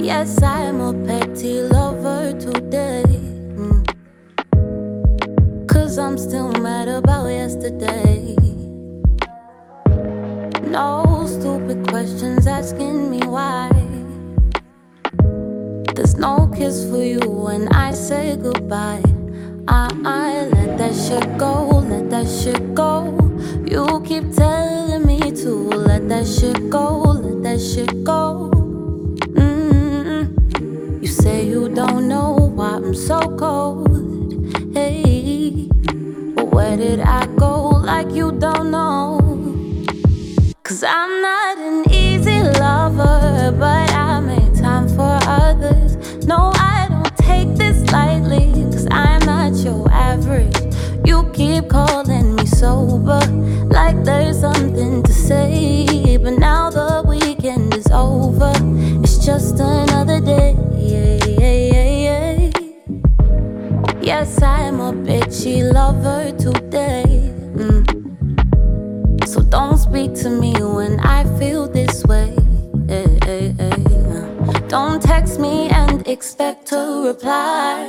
Yes, I'm a petty lover today. Cause I'm still mad about yesterday. No stupid questions asking me why. There's no kiss for you when I say goodbye. I let that shit go, let that shit go. You keep telling me to let that shit go, let that shit go. You say you don't know why I'm so cold. Hey, but where did I go like you don't know? Cause I'm not an easy lover, but I make time for others. No, I don't take this lightly, cause I'm not your average. You keep calling me sober, like there's something to say. But now the weekend is over, it's just another day. Yes, I'm a bitchy lover today. So don't speak to me when I feel this way. Don't text me and expect to reply.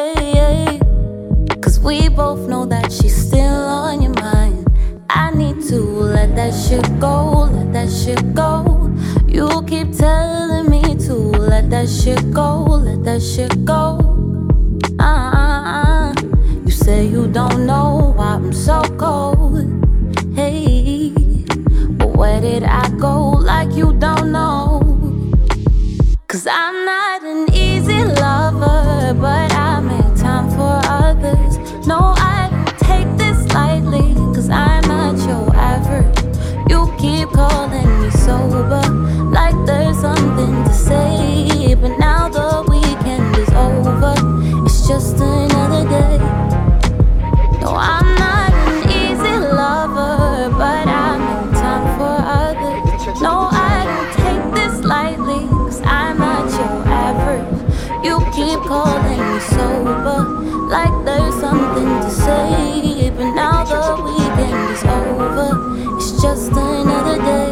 Cause we both know that she's still on your mind. I need to let that shit go, let that shit go. You keep telling me to let that shit go, let that shit go. You say you don't know why I'm so cold. Hey, but where did I go like you don't know? Cause I'm not an easy lover, but I make time for others. No, I don't take this lightly, cause I'm not your average. You keep calling me sober, like there's something to say. But now the weekend is over, it's just another day. No, I'm not an easy lover, but I make time for others. No, I don't take this lightly, cause I'm not your average. You keep calling me sober, like there's something to say. But now the weekend is over, it's just another day.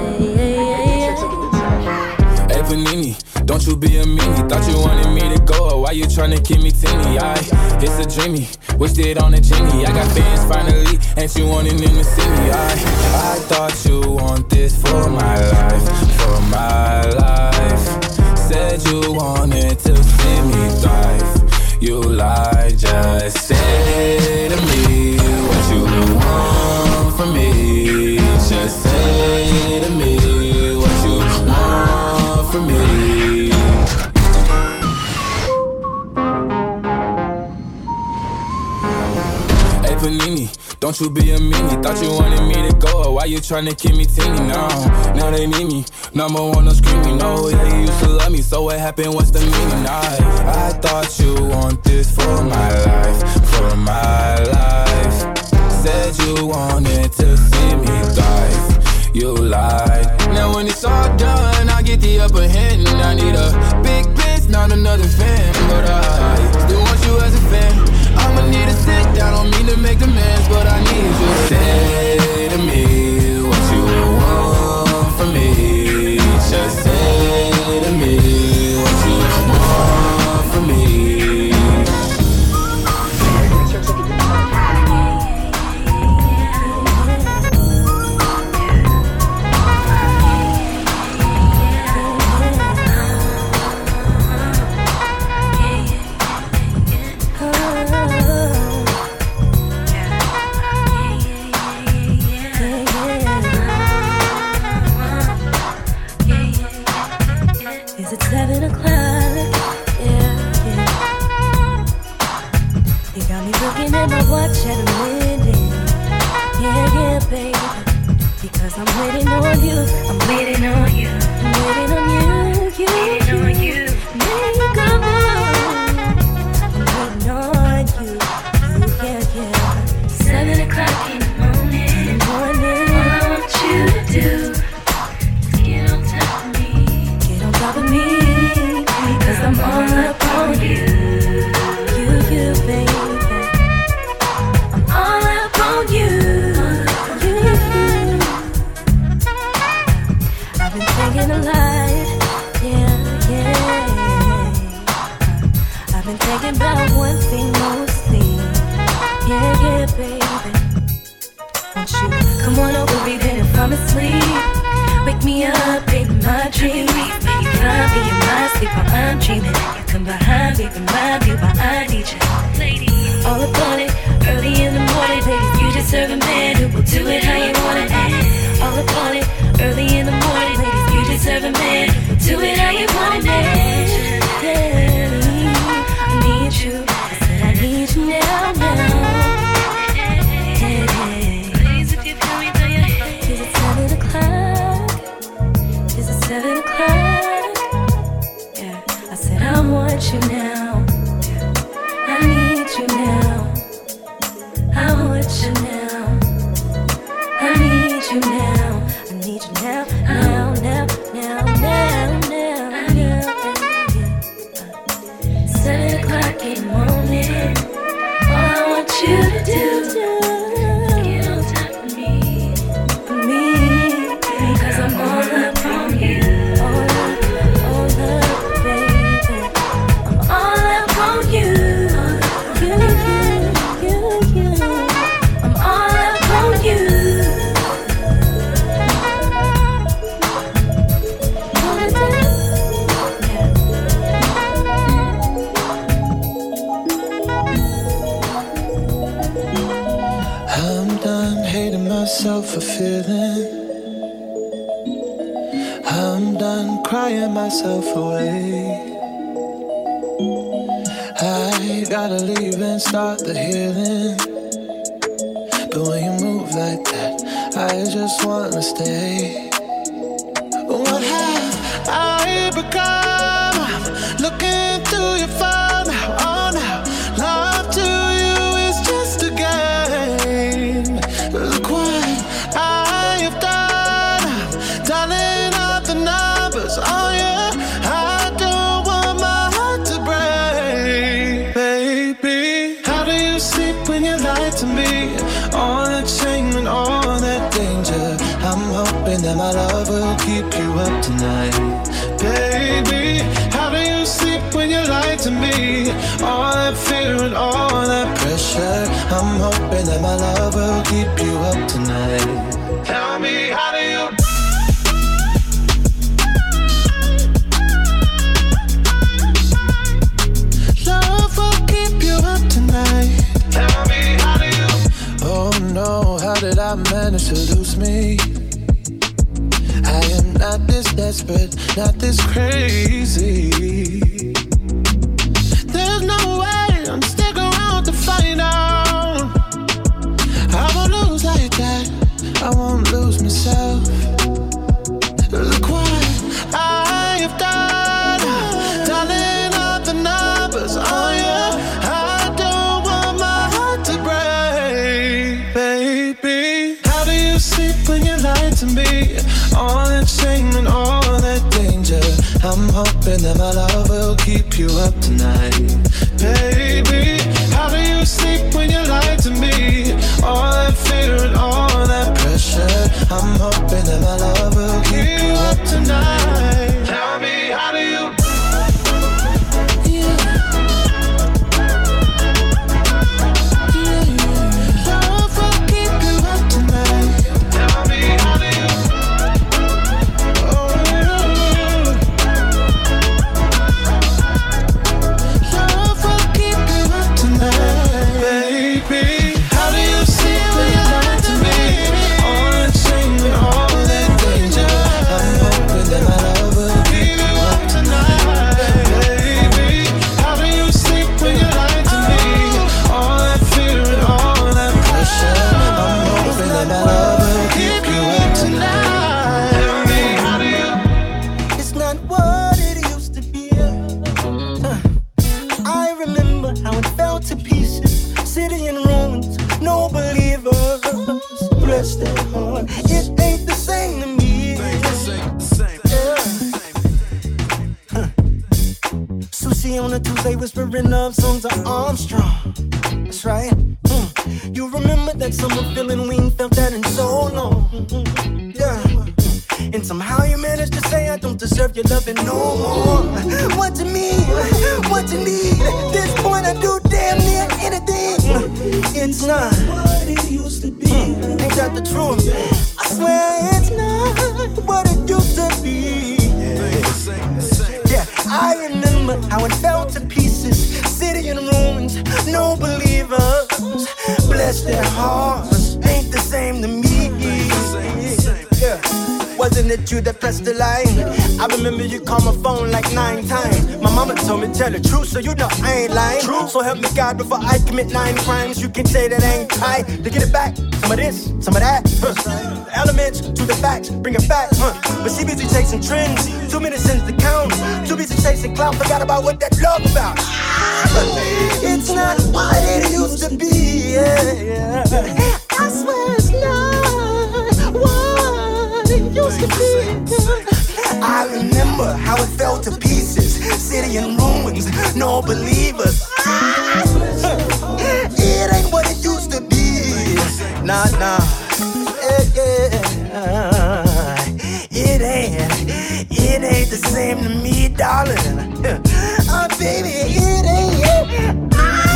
Hey Panini, don't you be a meanie. Thought you wanted me to go, why you tryna keep me teeny? It's a dreamy, wished it on a genie. I got fans finally, ain't you wanting them to see me? I thought you want this for my life, for my life. Said you wanted to see me thrive. You lied, just say to me what you want from me. Just say to me what you want from me. Hey Panini, don't you be a meanie. Thought you wanted me to go, why you tryna keep me teeny? Now they need me, number one, no screaming. No, yeah, you used to love me, so what happened, what's the meaning? I thought you want this for my life, for my life. Said you wanted to see me thrive, you lied. Now when it's all done, I get the upper hand. I need a big bitch, not another fan. But I still want you as a fan. I'ma need to sit down, don't mean to make demands, but I need you to say to me what you want from me. Just say to me what you want from me. Is it 7 o'clock? Yeah. You got me looking at my watch at a minute. Yeah, baby. Because I'm waiting on you. I'm waiting on you. I'm waiting on you. Waiting on you. Make a move. I'm waiting on you. Yeah. 7 o'clock in the morning. All I want you to do is get on top of me. Get on top of me. Because I'm all up on you. You, baby. I'm all up on you. I've been thinking a lot. Yeah. been thinking about one thing mostly. Yeah, baby. Won't you come on over, baby, and fall asleep? Wake me up, baby, my dreams. You find me in my sleep while I'm dreaming. You come behind me, remind me why I need you. Ladies, all about it, early in the morning, ladies. You deserve a man who will do it how you want it. All about it, early in the morning, ladies. You deserve a man who will do it how you want it. Yeah, I need you. I said I need you now, now. Please, if you feel me, do you? Is it 7 o'clock? Is it 7 o'clock? Yeah, I said I want you now. I need you now. I want you now. I need you now. I need you now. Now, now, now, now, now, now. 7 o'clock in the morning. All I want you to do. Get on top of me, because I'm all up on you. All up, baby. I'm all up on you. I'm all up on you. I'm done hating myself for feeling. I'm done crying myself away. I gotta leave and start the healing. But when you move like that, I just wanna stay. What have I become? I'm looking through your phone now. Oh, now love to you is just a game. Look what I have done. I'm dialing out the numbers. Oh yeah, I don't want my heart to break, baby. How do you sleep when you lie to me? All that shame and all that danger. I'm hoping that my love will keep you up tonight, baby. How do you sleep when you lie to me? All that fear and all that pressure. I'm hoping that my love will keep you up tonight. Tell me, how do you? Love will keep you up tonight. Tell me, how do you? Oh no, how did I manage to lose me? I am not this desperate, not this crazy. There's no way I'm sticking around to find out. I won't lose like that, I won't lose myself. Look what I have done, dialing out the numbers. Oh yeah, I don't want my heart to break, baby. How do you sleep when you lie to me? All that shame and all that danger. I'm hoping that my love will keep you up tonight, baby. How do you sleep when you lie to me? All that fear and all that pressure. I'm hoping that my love will keep you up tonight. Tell me, how do you? Whispering love songs of Armstrong. That's right. You remember that summer feeling we ain't felt that in so long. Yeah. And somehow you managed to say I don't deserve your loving no more. What to me, what you need. At this point I do damn near anything. It's not what it used to be. Ain't that the truth? I swear it's not what it used to be. Yeah, I remember how it fell to pieces. City in ruins, no believers. Bless their hearts, ain't the same to me. Yeah. Wasn't it you that pressed the line? I remember you called my phone like 9 times. My mama told me tell the truth, so you know I ain't lying. True. So help me God before I commit 9 crimes. You can say that I ain't tight to get it back. Some of this, some of that. The elements to the facts, bring it back. But she busy chasing trends. 2 minutes since the count. Too busy chasing clout, forgot about what that love about. It's not what it used to be. Yeah. I swear it's not what it used to be. I remember how it fell to pieces. City in ruins, no believers. It ain't what it used to be. Nah. It ain't the same to me, darling. Baby, it ain't.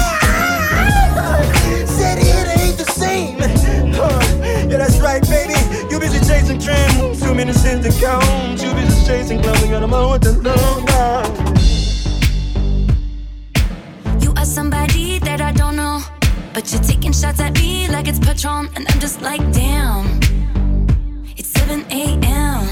Said it ain't the same. Yeah, that's right, baby. You busy chasing trends. 2 minutes since the count. You busy chasing clowns. Got them on with the long down. You are somebody that I don't know, but you're taking shots at me like it's Patron, and I'm just like, damn. It's 7 a.m.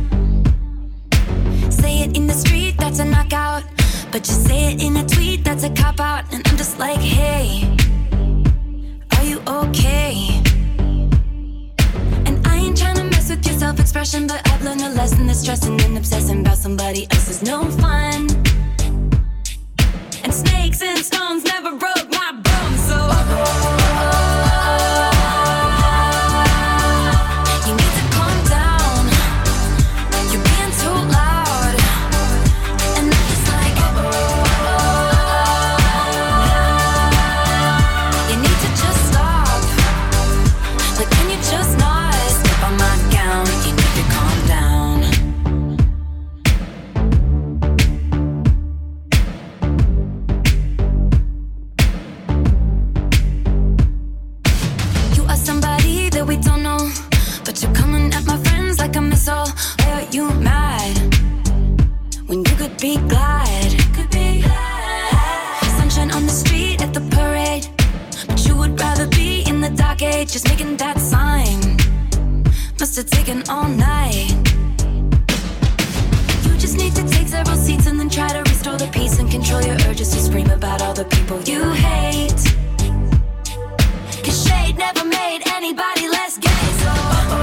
Say it in the street, that's a knockout. But you say it in a tweet, that's a cop-out. And I'm just like, hey, are you okay? And I ain't tryna mess with your self-expression, but I've learned a lesson that stressing and obsessing about somebody else is no fun. And snakes and stones never broke my bones, so you need to calm down. You're being too loud. And I'm just like, you need to just stop. Like, can you just not step on my gown? You need to calm down. You are somebody that we don't know, but you're coming at my friends like a missile. Why are you mad when you could be glad? Sunshine on the street at the parade, but you would rather be in the dark age, just making that sign. Must have taken all night. You just need to take several seats and then try to restore the peace and control your urges to scream about all the people you hate. 'Cause shade never made anybody less gay, so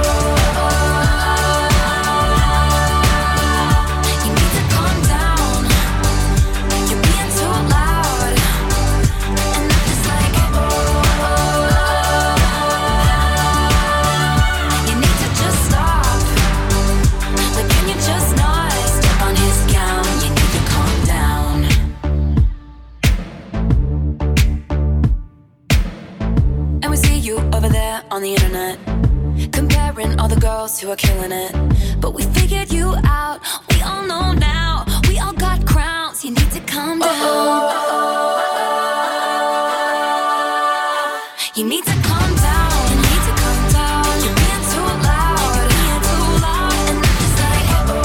you need to calm down. You're being too loud. And I'm just like, you need to just stop. Like, can you just not step on his gown? You need to calm down. And we see you over there on the internet, comparing all the girls who are killing it. But we figured you out, we all know now. We all got crowns, you need to calm down. You need to calm down, you need to calm down. You're being too loud, being too loud. And I'm just like,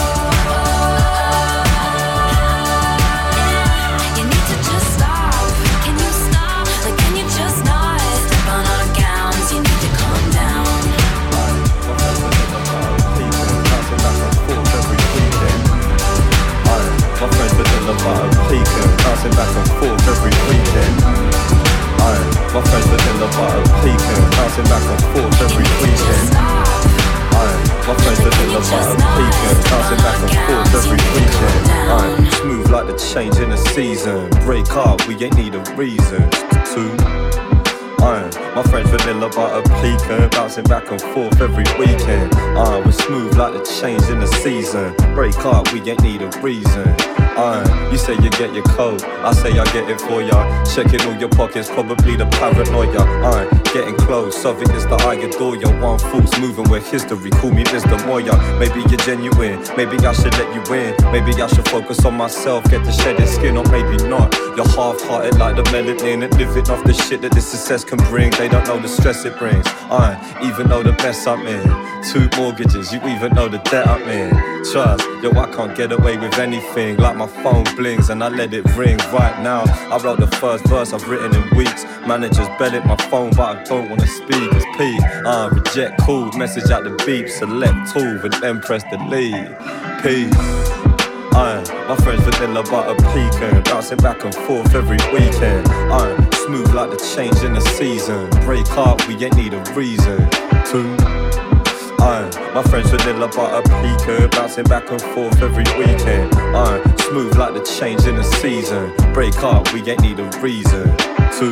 you need to just stop. Can you stop? Like, can you just not step on our gowns? You need to calm down. My friends within the bottom peeking, bouncing back and forth every weekend. My friends within the bottom peeking, bouncing back and forth every weekend. My friends within the bottom peeking, bouncing back and forth every weekend. Smooth like the change in the season. Break up, we ain't need a reason to. My friends vanilla butter pecan, bouncing back and forth every weekend. We're smooth like the change in the season. Break up, we ain't need a reason. You say you get your coat, I say I get it for ya. Checking all your pockets, probably the paranoia. Getting close, something is the I adore ya. One foot's moving with history, call me Mr. Moya. Maybe you're genuine, maybe I should let you in. Maybe I should focus on myself, get the shedded skin, or maybe not. You're half-hearted like the melanin and living off the shit that this success can bring. They don't know the stress it brings. Even know the mess I'm in. 2 mortgages, you even know the debt I'm in. Trust, yo, I can't get away with anything. Like my phone blings and I let it ring right now. I wrote the first verse I've written in weeks. Managers bell at my phone, but I don't wanna speak. It's peace. Reject call, message out the beep, select tool, and then press delete. Peace. My friends vanilla butter pecan, bouncing back and forth every weekend. Smooth like the change in the season. Break up, we ain't need a reason to. My friends vanilla butter pecan, bouncing back and forth every weekend. Smooth like the change in the season. Break up, we ain't need a reason to.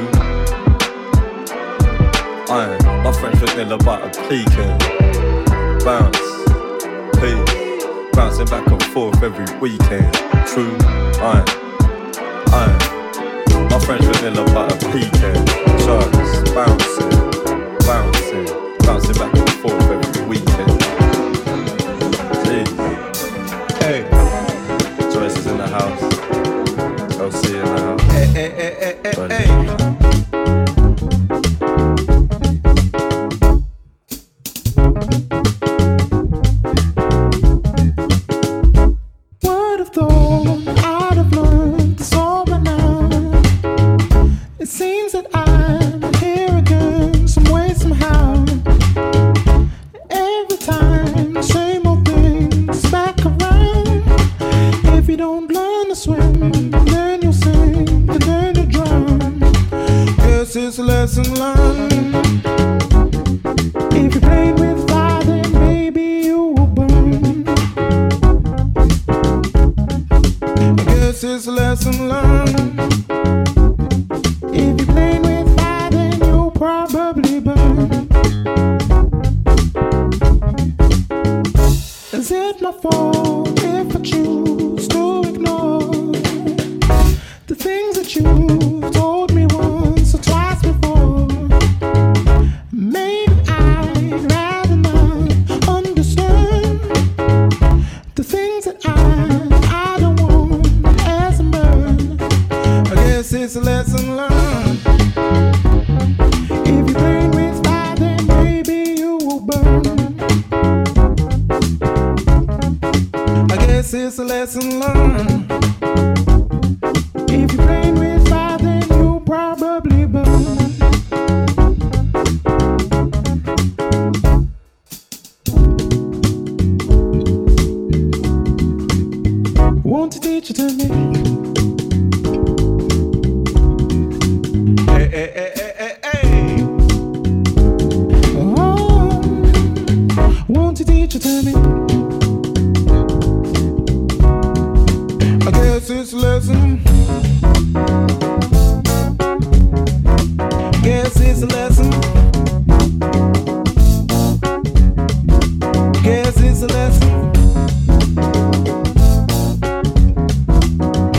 My friends vanilla butter pecan, bounce, peace. Bouncing back and forth every weekend. True, my friends vanilla butter pecan. Trust, bouncing back and forth every weekend. Jeez. Hey, Joyce is in the house. LC in the house. Hey. Lesson learned. If you played with fire, then maybe you will burn. I guess it's a lesson learned. If you played with fire, then you'll probably burn. Is it my fault if I choose to ignore the things that you told me once or twice before? Maybe I'd rather not understand the things that I don't want as a man. I guess it's a lesson learned. If you play with fire, then maybe you will burn. I guess it's a lesson learned. If you play with fire, then you'll probably burn. Won't you teach it to me? Hey. Oh, won't you teach it to me? I guess it's a lesson. Guess it's a lesson. Guess it's a lesson.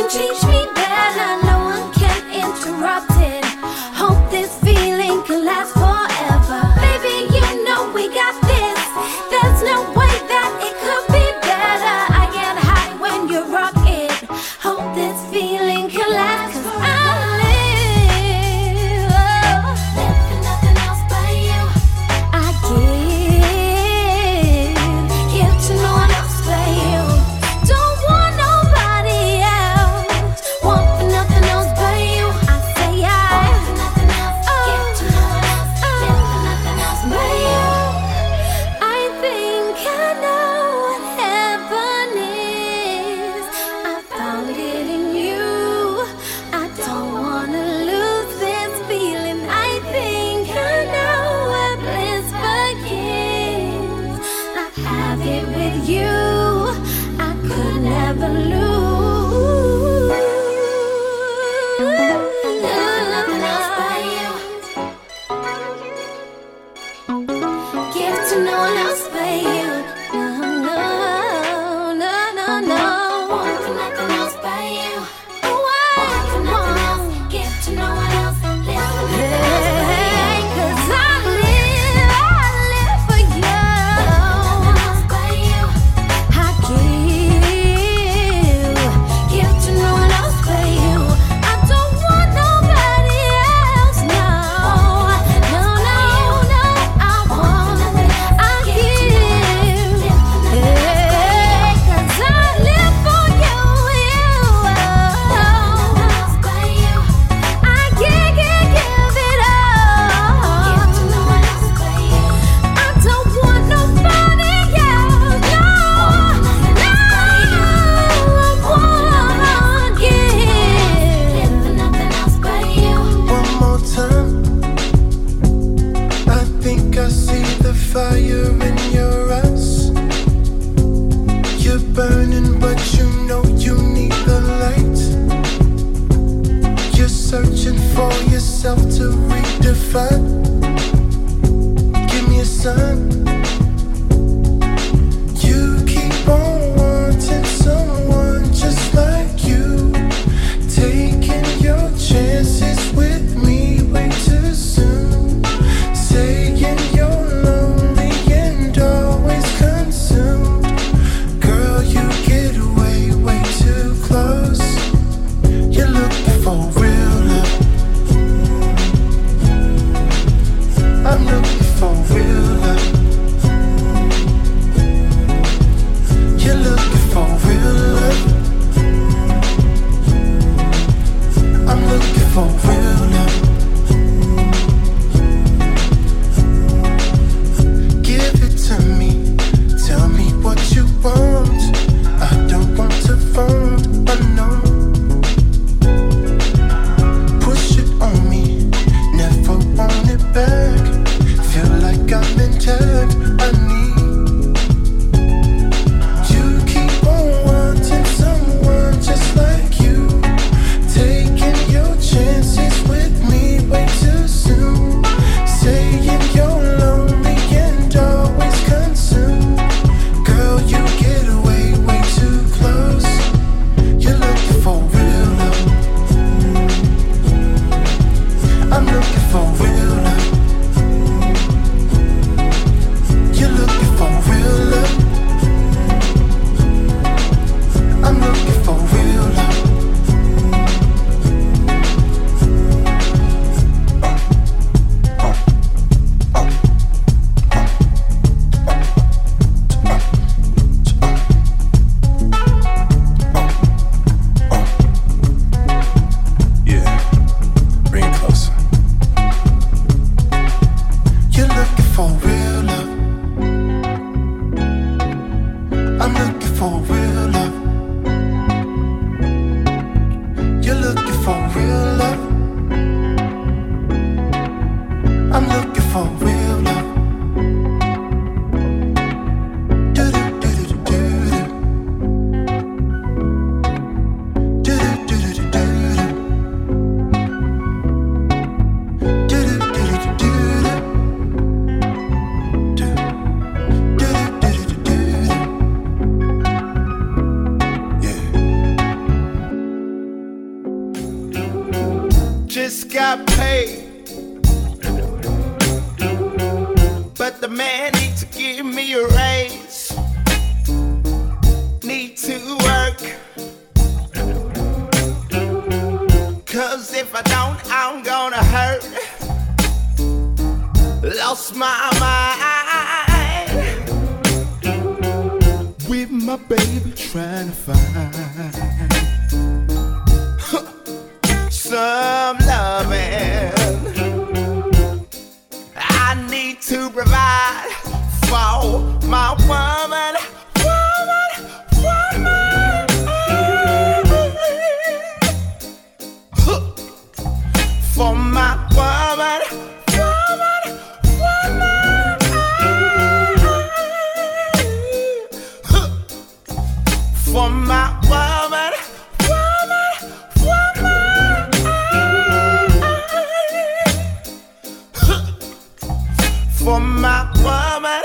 teach me better. No one can interrupt it. Hope this feeling can last forever. Baby, you know we got this. There's no way that it could be better. I get high when you rock it. Hope this feeling can last. 'Cause I live for nothing else but you. I give to no one else but you. Don't want nobody else. Want for nothing else but you. I say I want for nothing else. Give to no one else. Live for nothing else but you. I think I know what heaven is. I found it in you. I don't wanna lose this feeling. I think I know where bliss begins. I have it with you. I could never lose. Nothing else but you. Give to no one else but you. No, no, no, no. Want for nothing else but you. Want for nothing else. Give to no one else. Live for nothing else but you. 'Cause I live for you. Nothing else but you. I give to no one else but you. I don't want nobody else. No, no, no, no. I give. 'Cause I live for you. I give it all. Give to no one else but you. I don't want nobody else. No, no. I wanna give. Live for nothing else but you. One more time. I think I see the fire in your eyes. You're burning, but you know you need the light. You're searching for yourself to redefine. Give me a sign. You keep on wanting someone just like you. Taking your chances with me way too soon. Saying you're lonely and always consumed. Girl, you get way too close. You're looking for real love. I'm looking for real love. You're looking for real love. I'm looking for real love. Give it to me. Tell me what you want. I don't want to phone. I know. Push it on me. Never want it back. Feel like I'm in tag. I need. You keep on wanting someone just like you. Taking your chances with me way too soon. Saying you're lonely and always consumed. Girl, you get way too close. You're looking for real love. I'm looking for real love. You're looking for real love. I'm looking for real love. Yeah, bring it closer. You're looking for real love. I'm looking for real love. You're looking for real love. I'm looking for real love. Do-do-do-do-do-do. Do-do-do-do-do-do. Do-do-do-do-do-do. got paid, but the man needs to give me a raise. Need to work, 'cause if I don't, I'm gonna hurt. Lost my mind with my baby trying to find some loving. I need to provide for my woman. For my woman. For my woman. For my woman.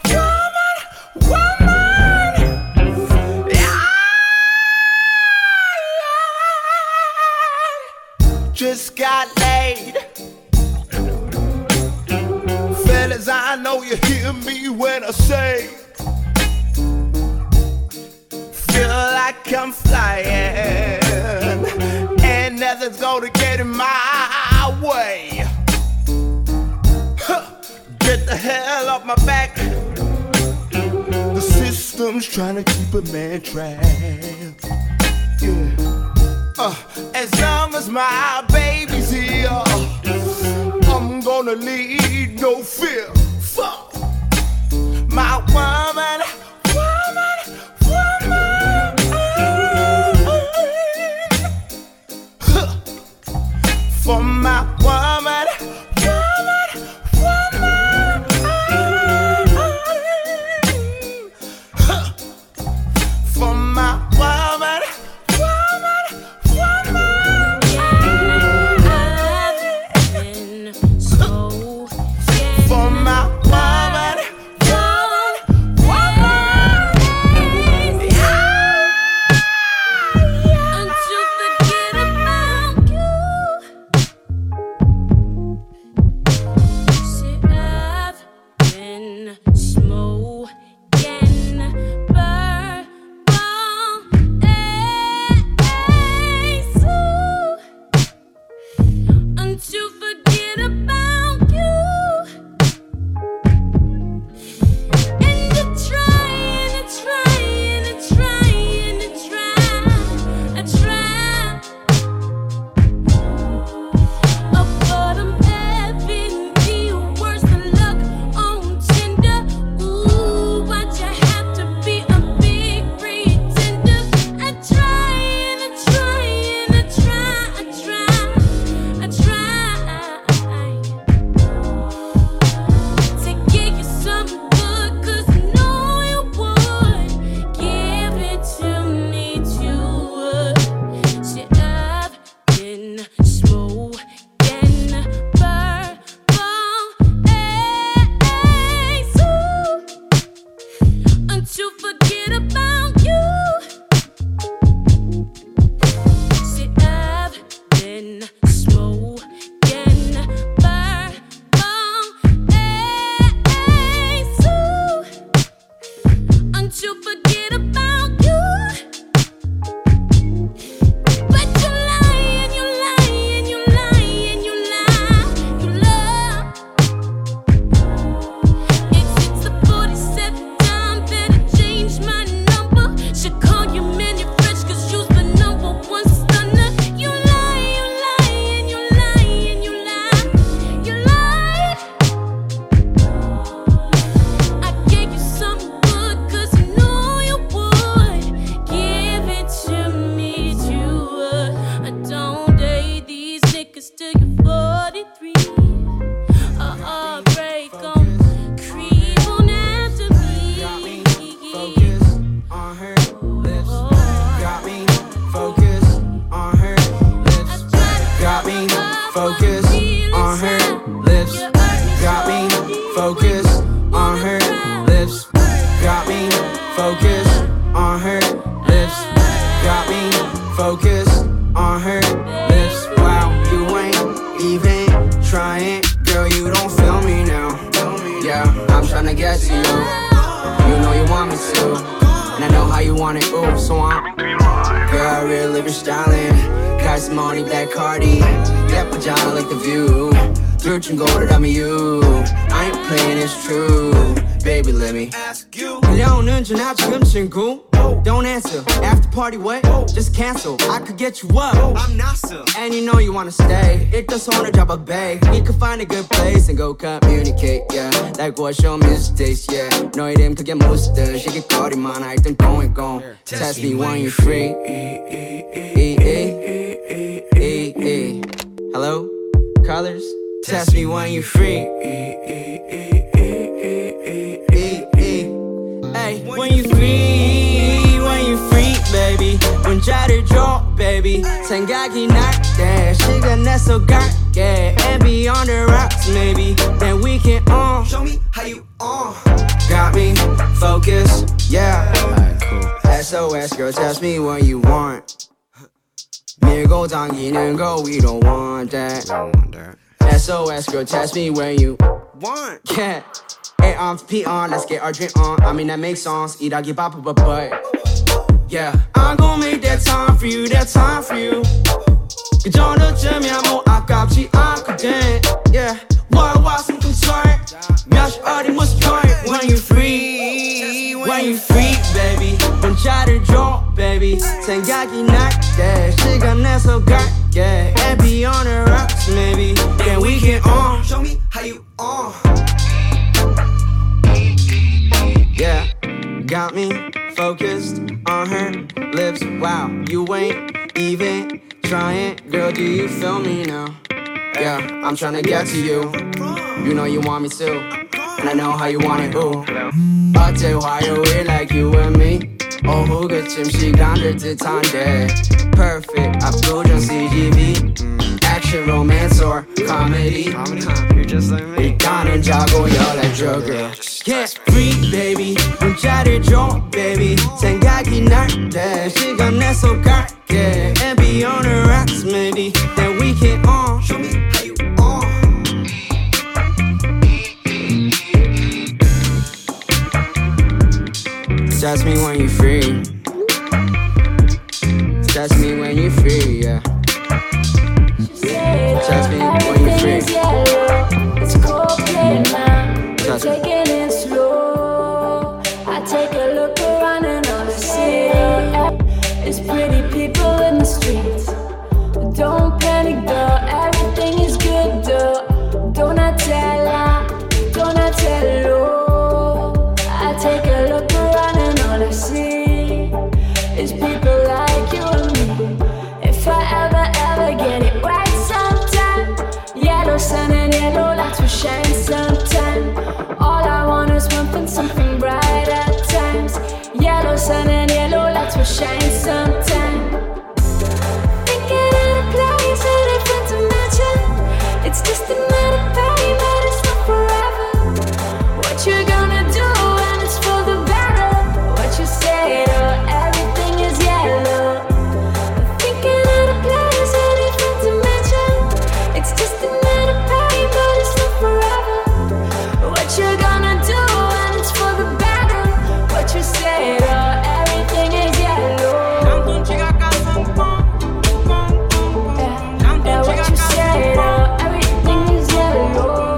Just got laid. Fellas, I know you hear me when I say, feel like I'm flying, and nothing's gonna get in my way. Get the hell off my back. The system's trying to keep a man trapped. Yeah. As long as my baby's here, I'm gonna lead no fear. Fuck my woman. For my woman. For my woman. you want it, ooh, so I'm girl, real living styling. Got some money, black Cardi. Yeah, pajama like the view. Searching gold, I'm you. I ain't playing, it's true. Baby, let me ask you. 그려오는 전화 지금 친구. Don't answer. After party, what? Just cancel. I could get you up. I'm NASA. And you know you wanna stay. It does on a drop a bay. We could find a good place and go communicate, yeah. Like what's your mistakes, yeah. 너의 이름 그게 무스터. 시기거리만 할 땐 going gone. Test me when you're free. Hello? Colors? Test me when you're free. Hey, when you free, baby. 문자를 줘, baby. 생각이 날 때 시간 내서 갈게. And be on the rocks, maybe. Then we can show me how you got me focused, yeah. Alright, cool. SOS, girl, test me what you want. 밀고 당기는 거, we don't want that. SOS, girl, test me where you want. Yeah. A on, P on, let's get our drink on. I mean, that makes songs. 일하기 바빠, but yeah. I'm gon' make that time for you, that time for you. 그 정도쯤이야 뭐 아깝지 않거든. Yeah. What's some concern? 몇 시 어디 무슨 point? When you free, baby. 문자를 줘, baby. 생각이 날 때 시간 내서 갈게. And be on the rocks, maybe. Then we can show me how you Yeah, got me focused on her lips. Wow, you ain't even trying. Girl, do you feel me now? Yeah, I'm tryna get to you. You know you want me too. And I know how you want it, ooh. 어째 화요일 like you and me. 오후그쯤 시간 될 듯한데. Perfect, 압도적 CGV. Action, romance, or comedy. You're just like me. 일단은 자고 연락줘, girl. Get free, baby. 문자를 줘, baby. 생각이 날 때 시간 내서 갈게. And be on the rocks, maybe. Then we can show me how you Touch me when you're free. Touch me when you're free, yeah. Touch me when you're free. It's Coldplay now. Touch me. Taking it slow. I take a look around and all I see is pretty people in the streets. Don't panic, girl. Everything is good, though. Don't I tell her? Don't I tell her? I take a look around and all I see is people like you and me. If I ever get it right sometime, yellow sun and yellow lights will shine sometime. All I want is something bright at times. Yellow sun and yellow lights will shine sometime. Thinking of a place, a different dimension. It's just another pain, but it's not forever. What you gonna do when it's for the better? What you say, everything is yellow. Thinking of a place, a different dimension. It's just another pain, but it's not forever. What you gonna do when it's for the better? What you say, everything is yellow. Yeah, what you say, everything is yellow.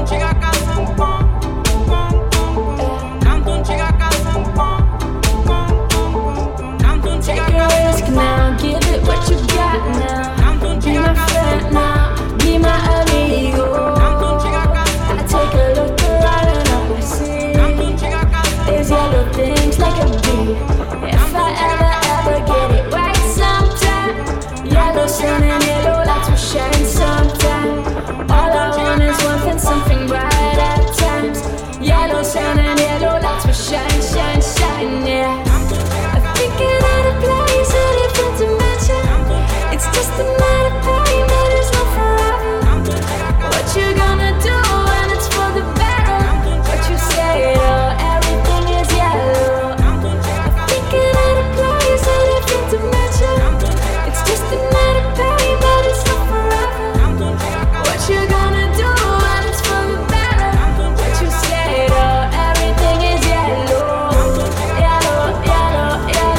Take a risk now, give it what you got now. Be my friend now, be my amigo. I take a look around and all I see is yellow things like a bee. If I ever get it right sometime, yellow sun and yellow lights will shine sometime. All I want is something bright at times. Yellow sun and yellow lights will shine, shine, shine, yeah. I'm thinking of a place, a different dimension. It's just another pain, but it's not forever. What you gonna do when it's for the better? What you say, everything is yellow. I'm thinking of a place, a different dimension. It's just another pain, but it's not forever. What you gonna do when it's for the better? What you say, everything is yellow. Yellow, yellow, yellow.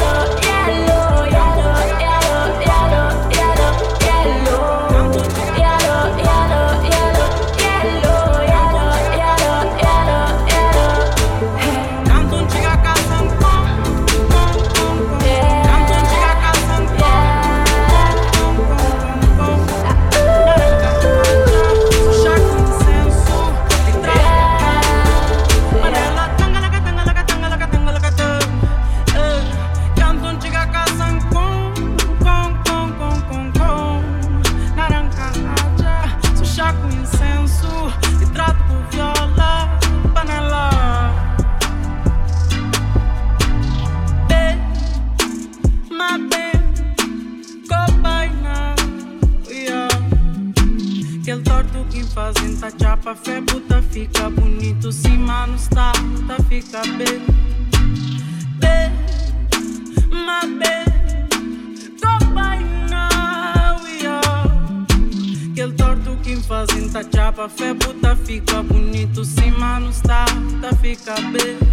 chapa, fé puta fica bonito. Se mano está, tá fica bem. Bem, my bem, go by now, yo. Aquele torto que fazem tá chapa, fé puta fica bonito. Se mano está, tá fica bem.